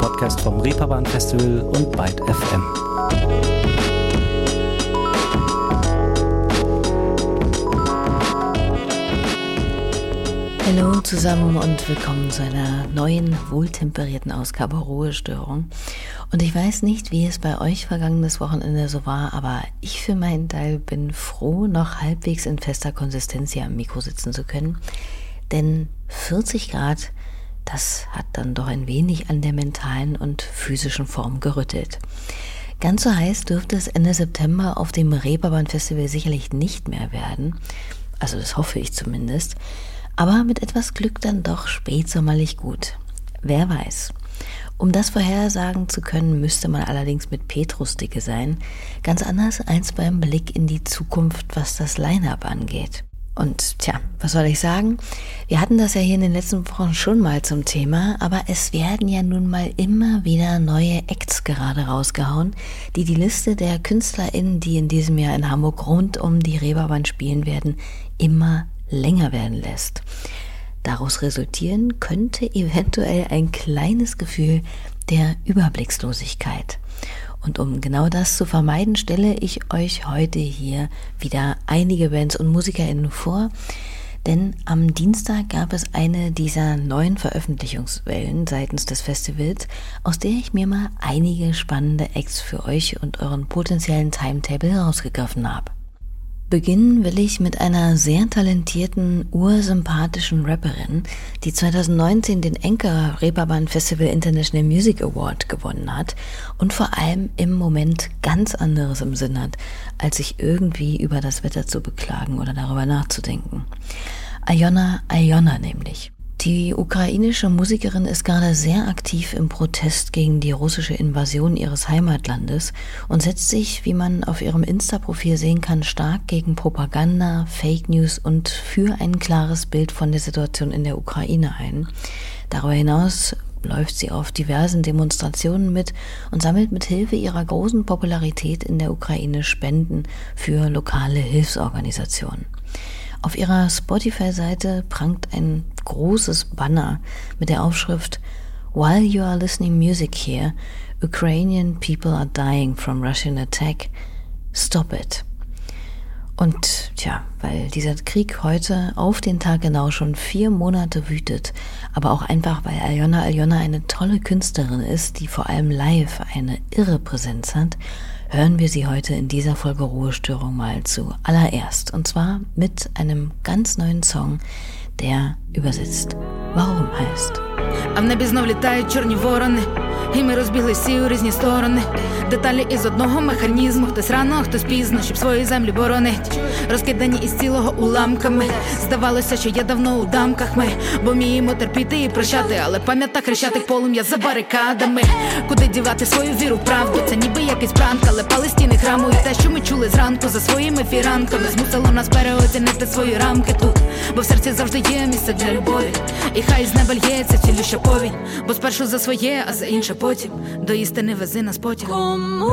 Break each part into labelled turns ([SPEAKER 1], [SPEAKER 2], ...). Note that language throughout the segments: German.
[SPEAKER 1] Podcast vom Reeperbahn Festival und Byte FM.
[SPEAKER 2] Hallo zusammen und willkommen zu einer neuen, wohltemperierten Ausgabe Ruhestörung. Und ich weiß nicht, wie es bei euch vergangenes Wochenende so war, aber ich für meinen Teil bin froh, noch halbwegs in fester Konsistenz hier am Mikro sitzen zu können. Denn 40 Grad, das hat dann doch ein wenig an der mentalen und physischen Form gerüttelt. Ganz so heiß dürfte es Ende September auf dem Reeperbahn Festival sicherlich nicht mehr werden. Also das hoffe ich zumindest. Aber mit etwas Glück dann doch spätsommerlich gut. Wer weiß. Um das vorhersagen zu können, müsste man allerdings mit Petrusdicke sein. Ganz anders als beim Blick in die Zukunft, was das Line-Up angeht. Und tja, was soll ich sagen? Wir hatten das ja hier in den letzten Wochen schon mal zum Thema, aber es werden ja nun mal immer wieder neue Acts gerade rausgehauen, die die Liste der KünstlerInnen, die in diesem Jahr in Hamburg rund um die Reeperbahn spielen werden, immer länger werden lässt. Daraus resultieren könnte eventuell ein kleines Gefühl der Überblickslosigkeit. Und um genau das zu vermeiden, stelle ich euch heute hier wieder einige Bands und MusikerInnen vor, denn am Dienstag gab es eine dieser neuen Veröffentlichungswellen seitens des Festivals, aus der ich mir mal einige spannende Acts für euch und euren potenziellen Timetable herausgegriffen habe. Beginnen will ich mit einer sehr talentierten, ursympathischen Rapperin, die 2019 den Anchor Reeperbahn Festival International Music Award gewonnen hat und vor allem im Moment ganz anderes im Sinn hat, als sich irgendwie über das Wetter zu beklagen oder darüber nachzudenken. Alyona nämlich. Die ukrainische Musikerin ist gerade sehr aktiv im Protest gegen die russische Invasion ihres Heimatlandes und setzt sich, wie man auf ihrem Insta-Profil sehen kann, stark gegen Propaganda, Fake News und für ein klares Bild von der Situation in der Ukraine ein. Darüber hinaus läuft sie auf diversen Demonstrationen mit und sammelt mit Hilfe ihrer großen Popularität in der Ukraine Spenden für lokale Hilfsorganisationen. Auf ihrer Spotify-Seite prangt ein großes Banner mit der Aufschrift "While you are listening music here, Ukrainian people are dying from Russian attack. Stop it." Und tja, weil dieser Krieg heute auf den Tag genau schon 4 Monate wütet, aber auch einfach, weil Alyona eine tolle Künstlerin ist, die vor allem live eine irre Präsenz hat, hören wir sie heute in dieser Folge Ruhestörung mal zuallererst. Und zwar mit einem ganz neuen Song, der übersetzt "Warum" heißt.
[SPEAKER 3] А в небі знов літають чорні ворони, і ми розбіглись всі у різні сторони. Деталі із одного механізму, хтось рано, хтось пізно, щоб свої землі боронить. Розкидані із цілого уламками. Здавалося, що я давно у дамках ми, бо вміємо терпіти і прощати, але пам'ята хрещатик полум'я за барикадами. Куди дівати свою віру в правду? Це ніби якийсь пранк, але пали стіни храму. І те, що ми чули зранку за своїми фіранками, змусило нас переоцінити свої рамки тут, бо в серці завжди є місце для любові. І хай з неба лється цілюща повінь, бо спершу за своє, а за інше потім. До істини вези нас потяг.
[SPEAKER 4] Кому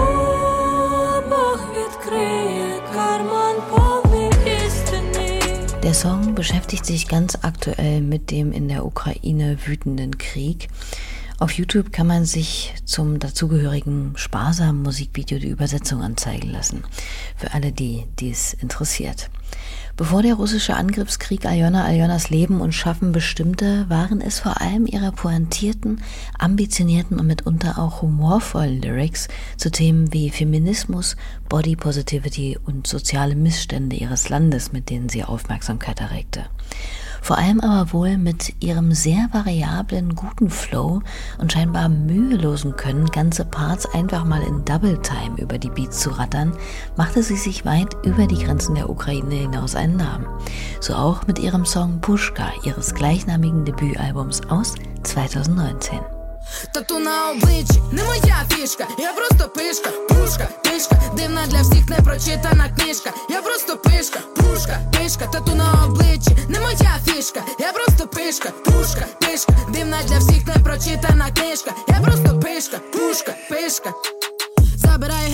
[SPEAKER 4] Бог відкриє карман повний істини?
[SPEAKER 2] Der Song beschäftigt sich ganz aktuell mit dem in der Ukraine wütenden Krieg. Auf YouTube kann man sich zum dazugehörigen sparsamen Musikvideo die Übersetzung anzeigen lassen. Für alle, die dies interessiert. Bevor der russische Angriffskrieg Alyonas Leben und Schaffen bestimmte, waren es vor allem ihre pointierten, ambitionierten und mitunter auch humorvollen Lyrics zu Themen wie Feminismus, Body Positivity und soziale Missstände ihres Landes, mit denen sie Aufmerksamkeit erregte. Vor allem aber wohl mit ihrem sehr variablen, guten Flow und scheinbar mühelosen Können, ganze Parts einfach mal in Double Time über die Beats zu rattern, machte sie sich weit über die Grenzen der Ukraine hinaus einen Namen. So auch mit ihrem Song Pushka, ihres gleichnamigen Debütalbums aus 2019.
[SPEAKER 3] Тату на обличчі, не моя фішка, я просто пишка, пушка, пишка, дивна для всіх непрочитана книжка, я просто пишка, пушка, пишка, тату на обличчі, не моя фішка, я просто пишка, пушка, пишка, дивна для всіх непрочитана книжка, я просто пишка, пушка, пишка. Забираю геть усіх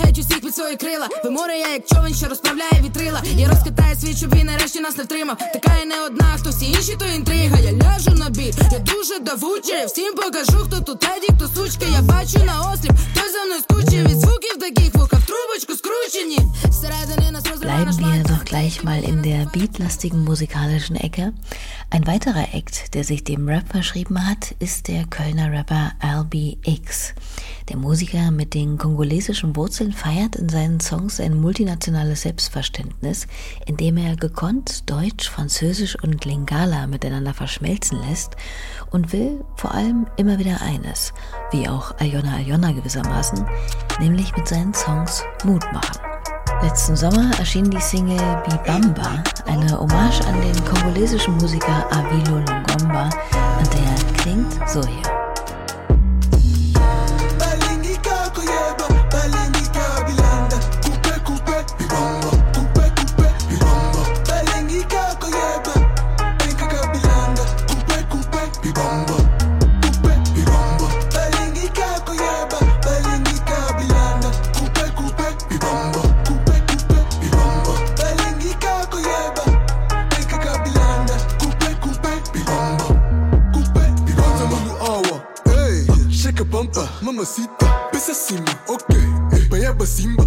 [SPEAKER 3] під свої крила. Ви море, я як човен, що розправляє вітрила. Я розкатаю світ, щоб він нарешті нас не втримав. Така я не одна, хто всі інші, то інтрига. Я ляжу на бій, я дуже давуча. Я всім покажу, хто тут леді, хто сучка. Я бачу на осліп, хто за мною скучив. Від звуків таких вуха в трубочку скручені. Всередині нас розриває наш
[SPEAKER 2] Bleiben wir doch gleich mal in der beatlastigen musikalischen Ecke. Ein weiterer Act, der sich dem Rap verschrieben hat, ist der Kölner Rapper LBX. Der Musiker mit den kongolesischen Wurzeln feiert in seinen Songs ein multinationales Selbstverständnis, indem er gekonnt Deutsch, Französisch und Lingala miteinander verschmelzen lässt und will vor allem immer wieder eines, wie auch Alyona Alyona gewissermaßen, nämlich mit seinen Songs Mut machen. Letzten Sommer erschien die Single Bibamba, eine Hommage an den kongolesischen Musiker Avilo Longomba, und der klingt so hier.
[SPEAKER 5] Mamacita, pesa cima, ok, Bayaba Simba,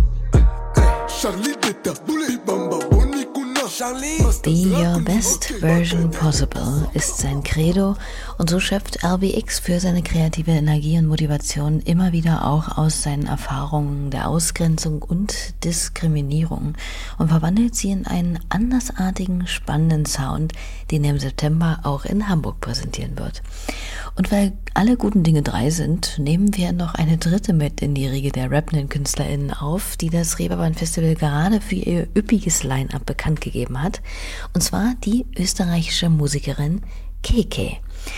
[SPEAKER 5] Charlie Detta, Bibamba, Bonicuna, Charlie.
[SPEAKER 2] Be your best version possible ist sein Credo, und so schöpft LBX für seine kreative Energie und Motivation immer wieder auch aus seinen Erfahrungen der Ausgrenzung und Diskriminierung und verwandelt sie in einen andersartigen, spannenden Sound, den er im September auch in Hamburg präsentieren wird. Und weil alle guten Dinge 3 sind, nehmen wir noch eine dritte mit in die Riege der rappenden KünstlerInnen auf, die das Reeperbahn Festival gerade für ihr üppiges Line-Up bekannt gegeben hat. Und zwar die österreichische Musikerin KK.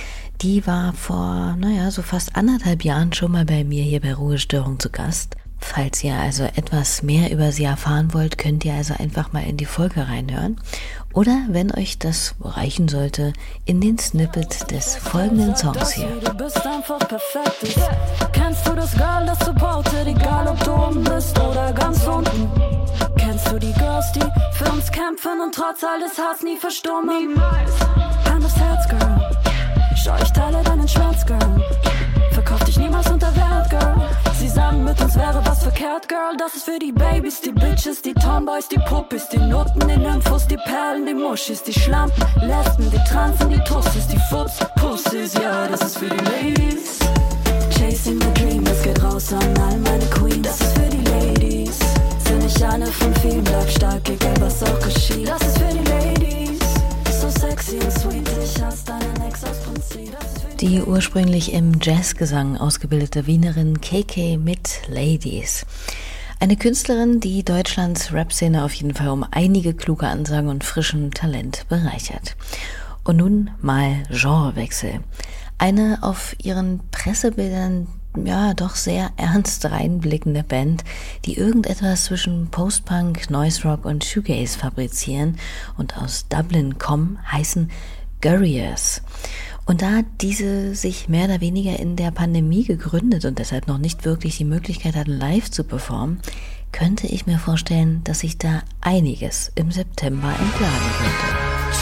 [SPEAKER 2] Die war vor, so fast 1,5 Jahren schon mal bei mir hier bei Ruhestörung zu Gast. Falls ihr also etwas mehr über sie erfahren wollt, könnt ihr also einfach mal in die Folge reinhören. Oder, wenn euch das reichen sollte, in den Snippet des folgenden Songs hier.
[SPEAKER 4] Du bist einfach perfekt. Kennst du das Girl, das supportet, egal ob du oben bist oder ganz unten? Kennst du die Girls, die für uns kämpfen und trotz alles Hass nie verstummen? Hand aufs Herz, Girl. Schau, ich teile deinen Schmerz, Girl. Verkauf dich niemals unter Wert, Girl. Sie sagen, mit uns wäre was verkehrt, Girl. Das ist für die Babys, die Bitches, die Tomboys, die Puppis, die Nutten, die Nymphos, die Perlen, die Muschis, die Schlampen, Lesben, die Transen, die Tussis, die Futs, Pussys. Ja, das ist für die Ladies. Chasing the dream, das geht raus an all meine Queens. Das ist für die Ladies. Sind nicht eine von vielen, bleib stark, egal was auch geschieht. Das ist für die Ladies. So sexy und sweet, ich hasse deinen Ex aus Prinzip.
[SPEAKER 2] Die ursprünglich im Jazzgesang ausgebildete Wienerin KK mit Ladies. Eine Künstlerin, die Deutschlands Rap-Szene auf jeden Fall um einige kluge Ansagen und frischem Talent bereichert. Und nun mal Genrewechsel. Eine auf ihren Pressebildern doch sehr ernst reinblickende Band, die irgendetwas zwischen Post-Punk, Noise Rock und Shoegaze fabrizieren und aus Dublin kommen, heißen Guerriers. Und da diese sich mehr oder weniger in der Pandemie gegründet und deshalb noch nicht wirklich die Möglichkeit hatten, live zu performen, könnte ich mir vorstellen, dass sich da einiges im September entladen könnte.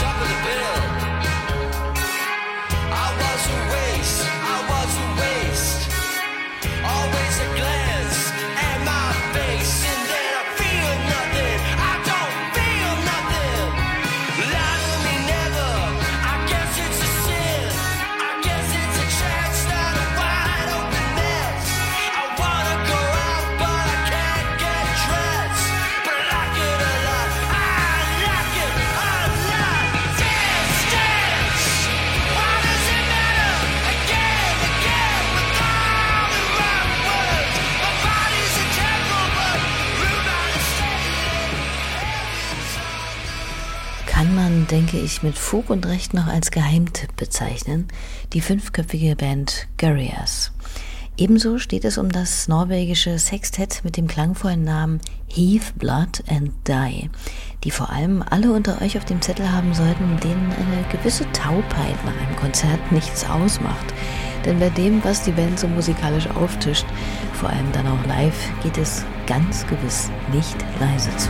[SPEAKER 2] Kann man, denke ich, mit Fug und Recht noch als Geheimtipp bezeichnen, die 5-köpfige Band Guerriers. Ebenso steht es um das norwegische Sextett mit dem klangvollen Namen Heave, Blood and Die, die vor allem alle unter euch auf dem Zettel haben sollten, denen eine gewisse Taubheit nach einem Konzert nichts ausmacht. Denn bei dem, was die Band so musikalisch auftischt, vor allem dann auch live, geht es ganz gewiss nicht leise zu.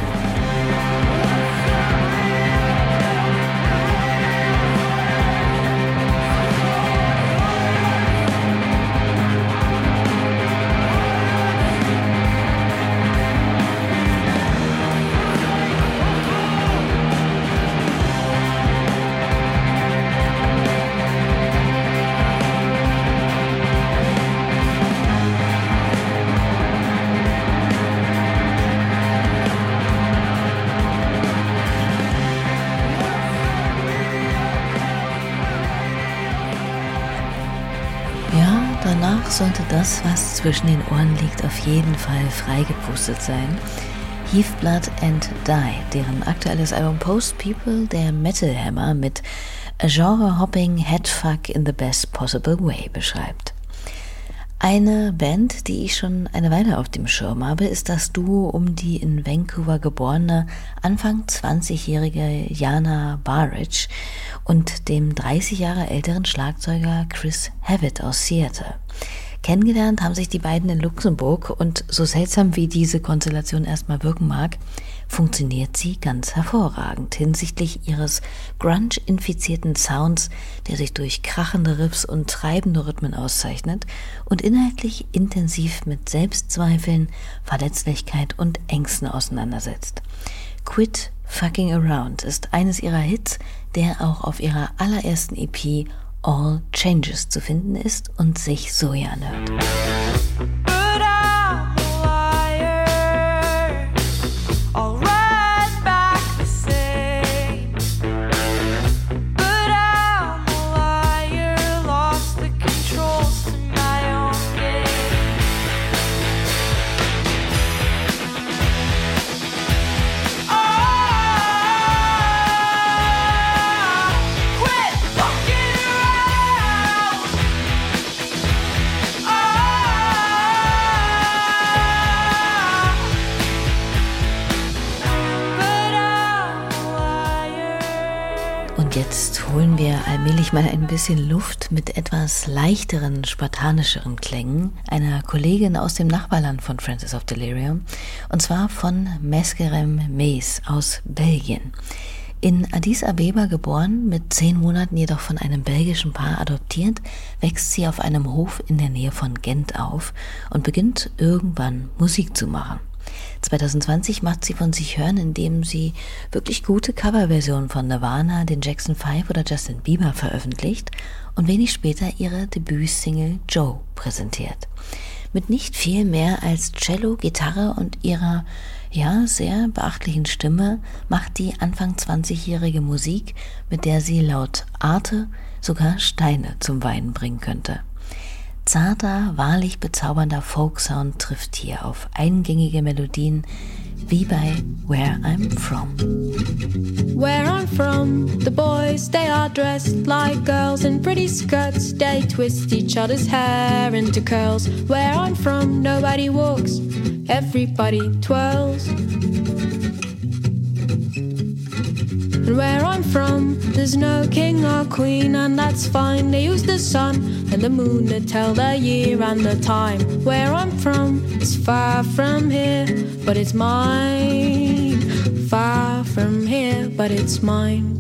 [SPEAKER 2] Danach sollte das, was zwischen den Ohren liegt, auf jeden Fall freigepustet sein. Heave Blood and Die, deren aktuelles Album Post People der Metal Hammer mit A Genre-Hopping Headfuck in the Best Possible Way beschreibt. Eine Band, die ich schon eine Weile auf dem Schirm habe, ist das Duo um die in Vancouver geborene, Anfang 20-jährige Jana Barrage und dem 30 Jahre älteren Schlagzeuger Chris Havitt aus Seattle. Kennengelernt haben sich die beiden in Luxemburg und so seltsam wie diese Konstellation erstmal wirken mag, funktioniert sie ganz hervorragend hinsichtlich ihres grunge-infizierten Sounds, der sich durch krachende Riffs und treibende Rhythmen auszeichnet und inhaltlich intensiv mit Selbstzweifeln, Verletzlichkeit und Ängsten auseinandersetzt. Quit Fucking Around ist eines ihrer Hits, der auch auf ihrer allerersten EP All Changes zu finden ist und sich so hier anhört. Jetzt holen wir allmählich mal ein bisschen Luft mit etwas leichteren, spartanischeren Klängen einer Kollegin aus dem Nachbarland von Francis of Delirium, und zwar von Meskerem Mees aus Belgien. In Addis Abeba geboren, mit 10 Monaten jedoch von einem belgischen Paar adoptiert, wächst sie auf einem Hof in der Nähe von Gent auf und beginnt irgendwann Musik zu machen. 2020 macht sie von sich hören, indem sie wirklich gute Coverversionen von Nirvana, den Jackson 5 oder Justin Bieber veröffentlicht und wenig später ihre Debütsingle Joe präsentiert. Mit nicht viel mehr als Cello, Gitarre und ihrer sehr beachtlichen Stimme macht die Anfang 20-jährige Musik, mit der sie laut Arte sogar Steine zum Weinen bringen könnte. Zarter, wahrlich bezaubernder Folksound trifft hier auf eingängige Melodien wie bei Where I'm From.
[SPEAKER 6] Where I'm from, the boys, they are dressed like girls in pretty skirts. They twist each other's hair into curls. Where I'm from, nobody walks, everybody twirls. And where I'm from, there's no king or queen, and that's fine. They use the sun and the moon to tell the year and the time. Where I'm from is far from here, but it's mine. Far from here, but it's mine.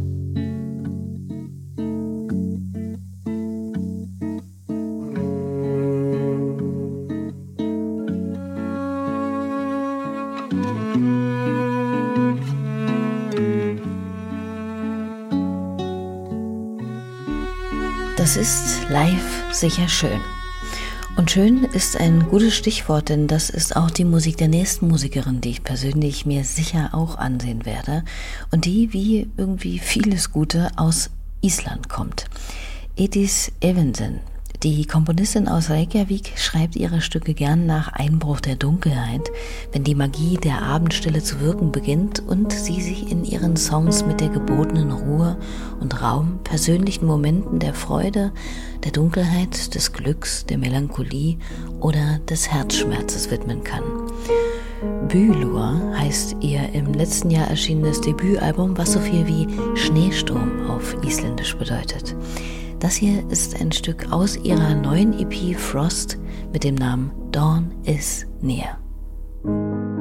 [SPEAKER 2] Das ist live sicher schön. Und schön ist ein gutes Stichwort, denn das ist auch die Musik der nächsten Musikerin, die ich persönlich mir sicher auch ansehen werde und die, wie irgendwie vieles Gute, aus Island kommt. Edith Evensen, die Komponistin aus Reykjavik, schreibt ihre Stücke gern nach Einbruch der Dunkelheit, wenn die Magie der Abendstille zu wirken beginnt und sie sich in ihren Songs mit der gebotenen Ruhe und Raum, persönlichen Momenten der Freude, der Dunkelheit, des Glücks, der Melancholie oder des Herzschmerzes widmen kann. Bylur heißt ihr im letzten Jahr erschienenes Debütalbum, was so viel wie Schneesturm auf Isländisch bedeutet. Das hier ist ein Stück aus ihrer neuen EP Frost mit dem Namen Dawn is Near.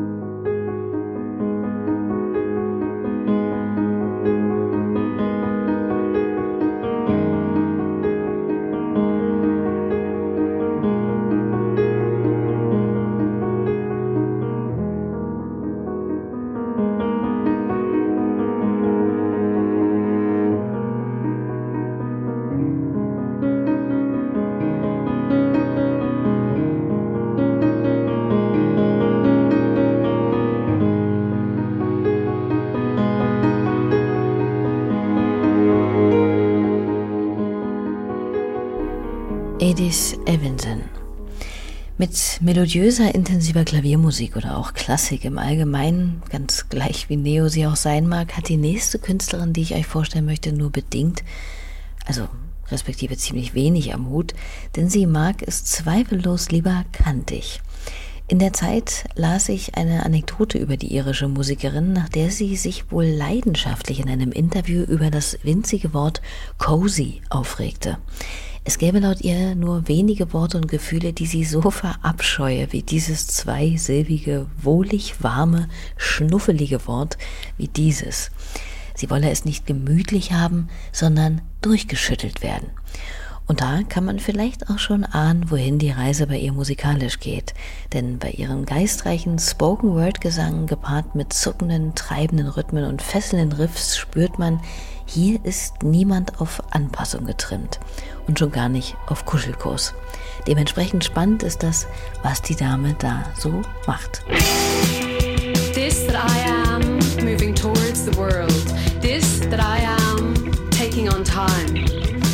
[SPEAKER 2] Edith Evenson. Mit melodiöser, intensiver Klaviermusik oder auch Klassik im Allgemeinen, ganz gleich wie Neo sie auch sein mag, hat die nächste Künstlerin, die ich euch vorstellen möchte, nur bedingt, also respektive ziemlich wenig am Hut, denn sie mag es zweifellos lieber kantig. In der Zeit las ich eine Anekdote über die irische Musikerin, nach der sie sich wohl leidenschaftlich in einem Interview über das winzige Wort cozy aufregte. Es gäbe laut ihr nur wenige Worte und Gefühle, die sie so verabscheue, wie dieses zweisilbige, wohlig warme, schnuffelige Wort wie dieses. Sie wolle es nicht gemütlich haben, sondern durchgeschüttelt werden. Und da kann man vielleicht auch schon ahnen, wohin die Reise bei ihr musikalisch geht. Denn bei ihrem geistreichen Spoken-Word-Gesang gepaart mit zuckenden, treibenden Rhythmen und fesselnden Riffs spürt man, hier ist niemand auf Anpassung getrimmt und schon gar nicht auf Kuschelkurs. Dementsprechend spannend ist das, was die Dame da so macht.
[SPEAKER 7] This that I am, moving towards the world. This that I am, taking on time.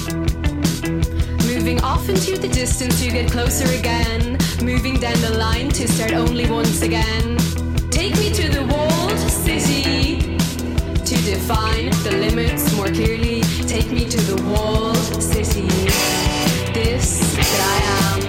[SPEAKER 7] Moving off into the distance to get closer again. Moving down the line to start only once again. Take me to the walled city to define the limits more clearly. Take me to the walled city. This that I am.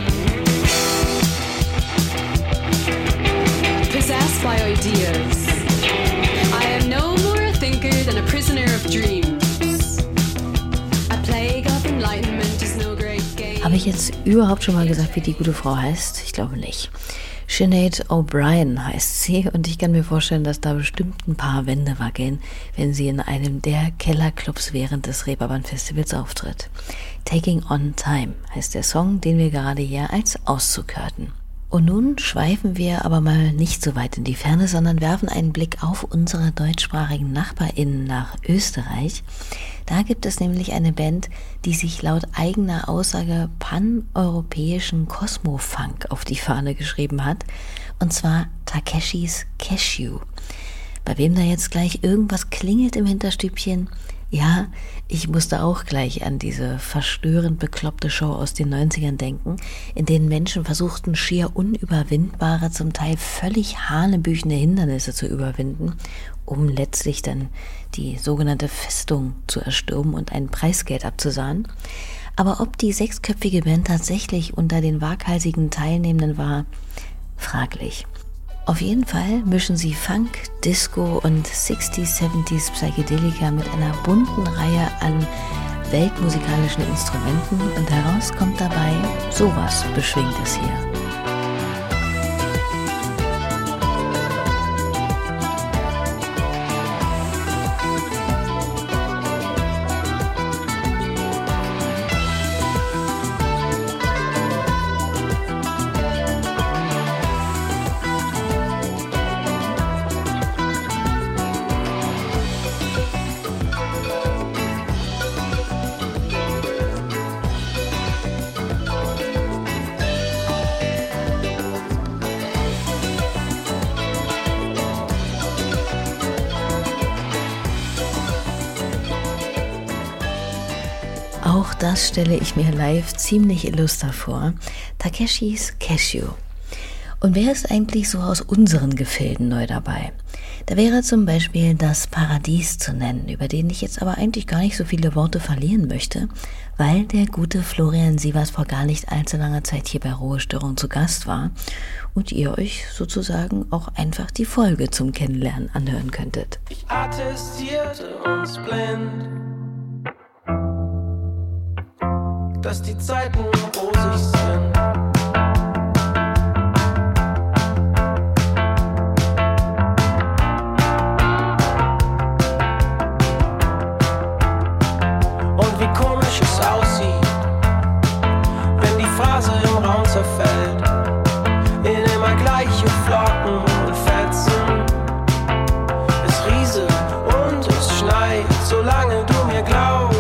[SPEAKER 7] Possessed by ideas. I am no more a thinker than a prisoner of dreams. A plague of enlightenment is no great game.
[SPEAKER 2] Habe ich jetzt überhaupt schon mal gesagt, wie die gute Frau heißt? Ich glaube nicht. Sinead O'Brien heißt sie und ich kann mir vorstellen, dass da bestimmt ein paar Wände wackeln, wenn sie in einem der Kellerclubs während des Reeperbahn-Festivals auftritt. Taking on Time heißt der Song, den wir gerade hier als Auszug hörten. Und nun schweifen wir aber mal nicht so weit in die Ferne, sondern werfen einen Blick auf unsere deutschsprachigen NachbarInnen nach Österreich. Da gibt es nämlich eine Band, die sich laut eigener Aussage pan-europäischen Cosmo-Funk auf die Fahne geschrieben hat, und zwar Takeshis Cashew. Bei wem da jetzt gleich irgendwas klingelt im Hinterstübchen? Ja, ich musste auch gleich an diese verstörend bekloppte Show aus den 90ern denken, in denen Menschen versuchten, schier unüberwindbare, zum Teil völlig hanebüchene Hindernisse zu überwinden, um letztlich dann die sogenannte Festung zu erstürmen und ein Preisgeld abzusahnen. Aber ob die sechsköpfige Band tatsächlich unter den waghalsigen Teilnehmenden war, fraglich. Auf jeden Fall mischen sie Funk, Disco und 60s, 70s Psychedelika mit einer bunten Reihe an weltmusikalischen Instrumenten und heraus kommt dabei sowas Beschwingtes hier. Auch das stelle ich mir live ziemlich illuster vor. Takeshis Cashew. Und wer ist eigentlich so aus unseren Gefilden neu dabei? Da wäre zum Beispiel Das Paradies zu nennen, über den ich jetzt aber eigentlich gar nicht so viele Worte verlieren möchte, weil der gute Florian Sievers vor gar nicht allzu langer Zeit hier bei Ruhestörung zu Gast war und ihr euch sozusagen auch einfach die Folge zum Kennenlernen anhören könntet.
[SPEAKER 8] Ich attestierte uns blind, dass die Zeiten rosig sind. Und wie komisch es aussieht, wenn die Phrase im Raum zerfällt, in immer gleiche Flocken und Fetzen. Es rieselt und es schneit, solange du mir glaubst.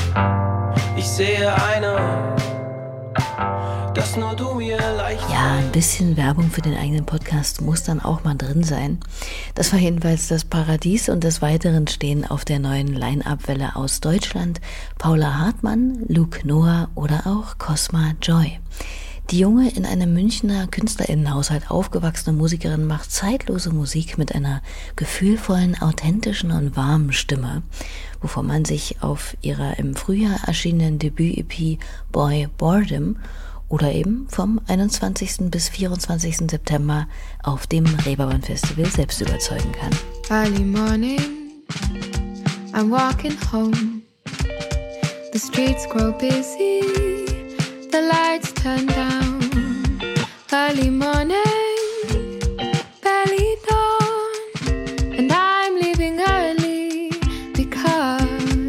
[SPEAKER 8] Ich sehe eine, dass nur du mir leicht.
[SPEAKER 2] Ja, ein bisschen Werbung für den eigenen Podcast muss dann auch mal drin sein. Das war jedenfalls das Paradies und des Weiteren stehen auf der neuen Line-Up-Welle aus Deutschland Paula Hartmann, Luke Noah oder auch Cosma Joy. Die junge, in einem Münchner KünstlerInnenhaushalt aufgewachsene Musikerin macht zeitlose Musik mit einer gefühlvollen, authentischen und warmen Stimme, wovon man sich auf ihrer im Frühjahr erschienenen Debüt-EP Boy Boredom oder eben vom 21. bis 24. September auf dem Reeperbahn Festival selbst überzeugen kann.
[SPEAKER 6] Early morning, I'm walking home. The streets grow busy, the lights turn down. Early morning, barely dawn, and I'm leaving early because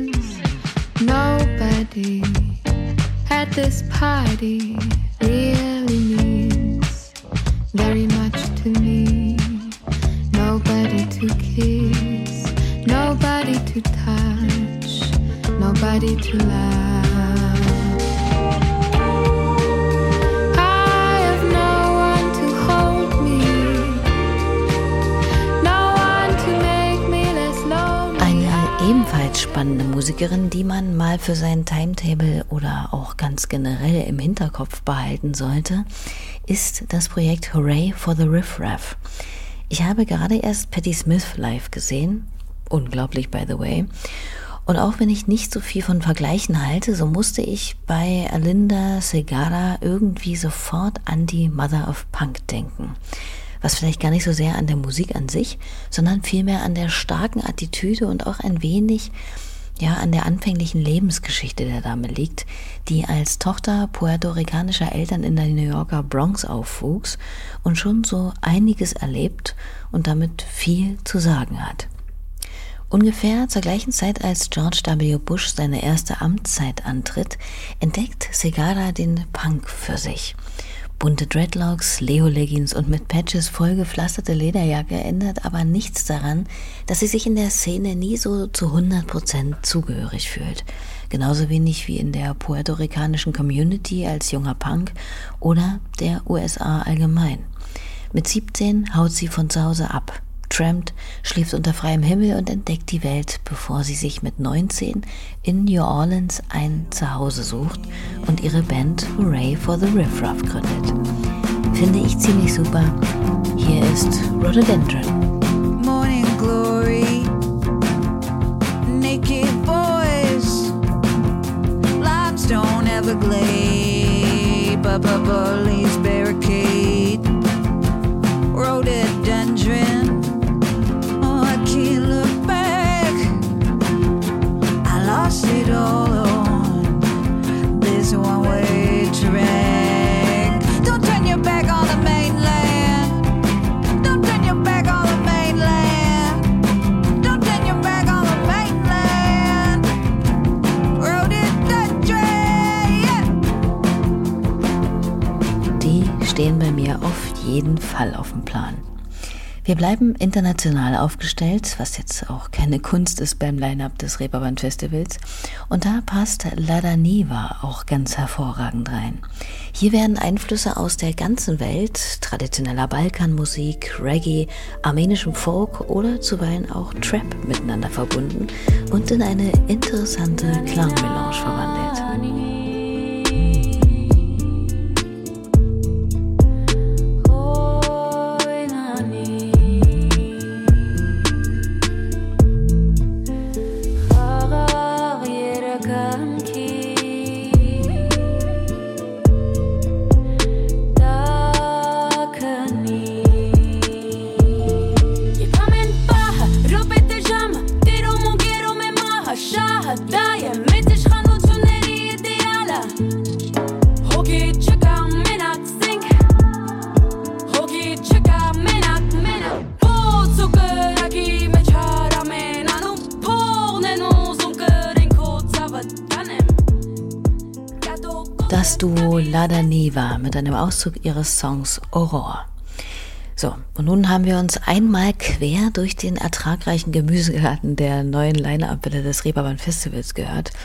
[SPEAKER 6] nobody at this party really means very much to me. Nobody to kiss, nobody to touch, nobody to love. I have no one to hold me, no one to make me less lonely.
[SPEAKER 2] Eine ebenfalls spannende Musikerin, die man mal für sein Timetable oder auch ganz generell im Hinterkopf behalten sollte, ist das Projekt Hooray for the Riff Raff. Ich habe gerade erst Patti Smith live gesehen, unglaublich by the way, und auch wenn ich nicht so viel von Vergleichen halte, so musste ich bei Alinda Segarra irgendwie sofort an die Mother of Punk denken. Was vielleicht gar nicht so sehr an der Musik an sich, sondern vielmehr an der starken Attitüde und auch ein wenig an der anfänglichen Lebensgeschichte der Dame liegt, die als Tochter puerto-ricanischer Eltern in der New Yorker Bronx aufwuchs und schon so einiges erlebt und damit viel zu sagen hat. Ungefähr zur gleichen Zeit, als George W. Bush seine erste Amtszeit antritt, entdeckt Segarra den Punk für sich. Bunte Dreadlocks, Leo-Leggings und mit Patches vollgepflasterte Lederjacke ändert aber nichts daran, dass sie sich in der Szene nie so zu 100% zugehörig fühlt. Genauso wenig wie in der puerto-ricanischen Community als junger Punk oder der USA allgemein. Mit 17 haut sie von zu Hause ab, trampt, schläft unter freiem Himmel und entdeckt die Welt, bevor sie sich mit 19 in New Orleans ein Zuhause sucht und ihre Band Hooray for the Riff Raff gründet. Finde ich ziemlich super. Hier ist Rhododendron.
[SPEAKER 9] Morning glory, naked boys, limestone Everglade, police barricade, rhododendron. Lost it all on this one-way track. Don't turn your back on the mainland. Don't turn your back on the mainland. Don't turn your back on the mainland. Rhododendron, yeah.
[SPEAKER 2] Die stehen bei mir auf jeden Fall auf dem Plan. Wir bleiben international aufgestellt, was jetzt auch keine Kunst ist beim Line-Up des Reeperbahn Festivals. Und da passt Lada Niva auch ganz hervorragend rein. Hier werden Einflüsse aus der ganzen Welt, traditioneller Balkanmusik, Reggae, armenischem Folk oder zuweilen auch Trap miteinander verbunden und in eine interessante Klangmelange verwandelt. Das Duo Lada Niva mit einem Auszug ihres Songs Aurore. So, und nun haben wir uns einmal quer durch den ertragreichen Gemüsegarten der neuen Line-Up-Welle des Reeperbahn Festivals gehört.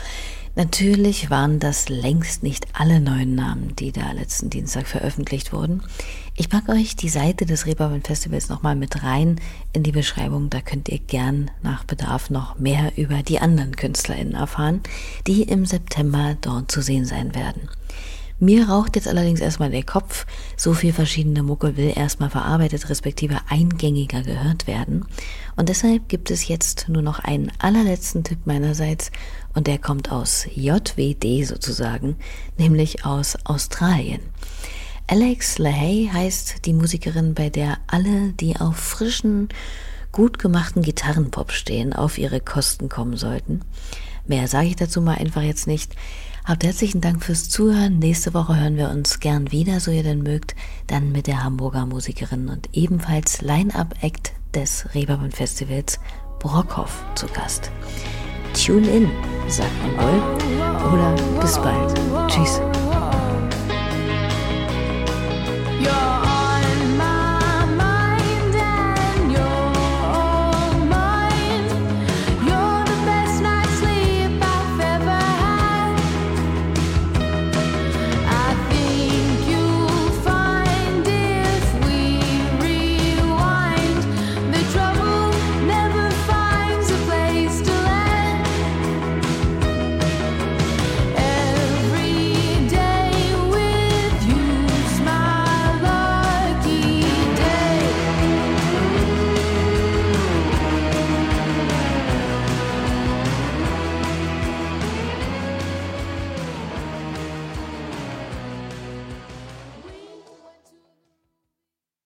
[SPEAKER 2] Natürlich waren das längst nicht alle neuen Namen, die da letzten Dienstag veröffentlicht wurden. Ich packe euch die Seite des Reeperbahn Festivals nochmal mit rein in die Beschreibung. Da könnt ihr gern nach Bedarf noch mehr über die anderen KünstlerInnen erfahren, die im September dort zu sehen sein werden. Mir raucht jetzt allerdings erstmal der Kopf. So viel verschiedene Mucke will erstmal verarbeitet, respektive eingängiger gehört werden. Und deshalb gibt es jetzt nur noch einen allerletzten Tipp meinerseits. Und der kommt aus JWD sozusagen, nämlich aus Australien. Alex Lahey heißt die Musikerin, bei der alle, die auf frischen, gut gemachten Gitarrenpop stehen, auf ihre Kosten kommen sollten. Mehr sage ich dazu mal einfach jetzt nicht. Habt herzlichen Dank fürs Zuhören. Nächste Woche hören wir uns gern wieder, so ihr denn mögt, dann mit der Hamburger Musikerin und ebenfalls Line-Up-Act des Reeperbahn Festivals Brockhoff zu Gast. Tune in, sagt man wohl. Oder bis bald. Tschüss.